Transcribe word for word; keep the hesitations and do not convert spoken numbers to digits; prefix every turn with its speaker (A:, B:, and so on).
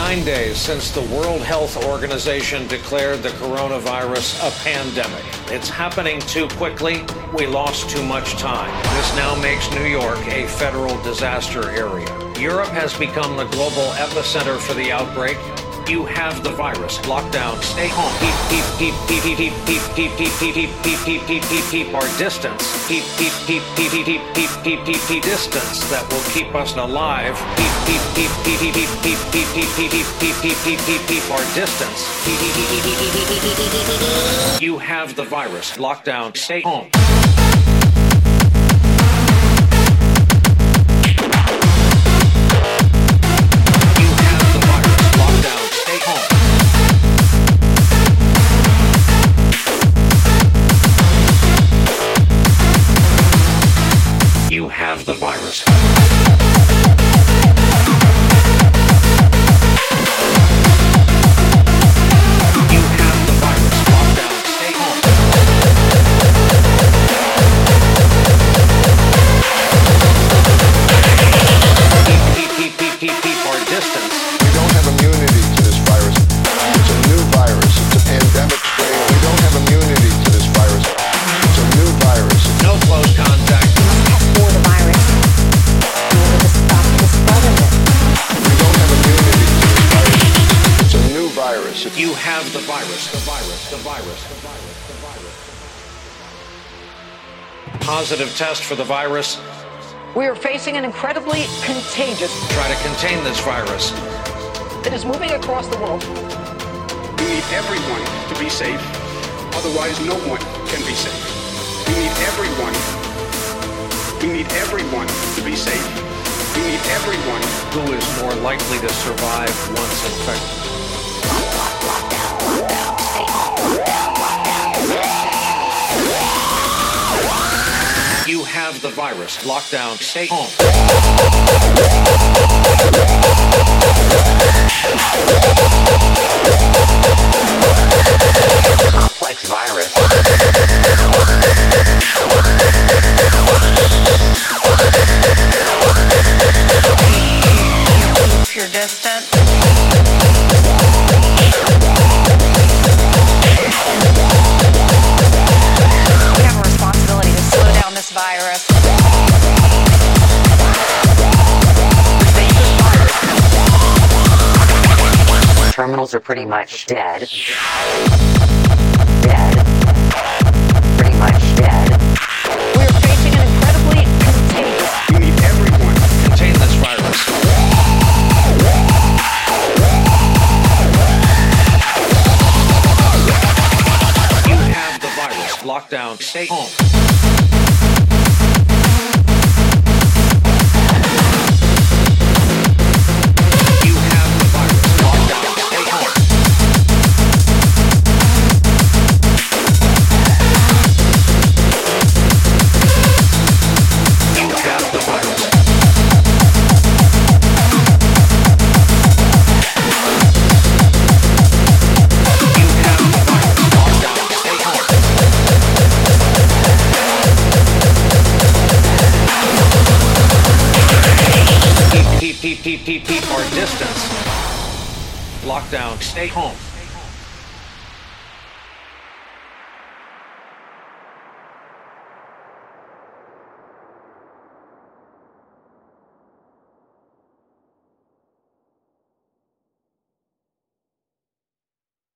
A: nine days since the World Health Organization declared the coronavirus a pandemic. It's happening too quickly. We lost too much time. This now makes New York a federal disaster area. Europe has become the global epicenter for the outbreak. You have the virus. Lockdown. Stay home. Keep, keep, keep, keep, keep, keep, keep, keep, keep, keep, keep, keep, keep, keep our distance. Keep, keep, keep, keep, keep, keep, keep, keep, keep, keep distance that will keep us alive. Keep, keep, keep, keep, keep, keep, keep, keep, keep, keep, keep, keep, keep, keep, keep our distance. You have the virus. Lockdown. Stay home. You have the virus. You have the virus. Lockdown. Stay home. Keep, keep, keep, keep, keep, keep our distance.
B: We don't have immunity to this virus. It's a new virus. It's a pandemic strain. We don't have immunity to this virus. It's a new virus.
A: No close contact.
C: For the virus in order to stop the spread of it.
B: We don't have immunity to this virus. It's a new virus. It's
A: You have the virus. The virus. The virus. The virus. The virus. Positive test for the virus.
D: We are facing an incredibly contagious
A: Try to contain this virus.
D: that is moving across the world.
E: We need everyone to be safe. Otherwise, no one can be safe. We need everyone. We need everyone to be safe. We need everyone.
A: Who is more likely to survive once infected? You have the virus. Lockdown. Stay home.
F: Complex virus.
G: Keep your distance. We have a responsibility to slow down this virus.
F: Terminals are pretty much dead. Dead. Pretty much dead.
D: We are facing an incredibly contagious
E: We need everyone.
A: Contain this virus. You have the virus. Lockdown. Stay home. You have the virus. Lockdown. Stay home. You have the virus. You have the virus. Lockdown. Stay home. Keep, keep, keep, keep, keep, keep our distance. Lockdown. Stay home.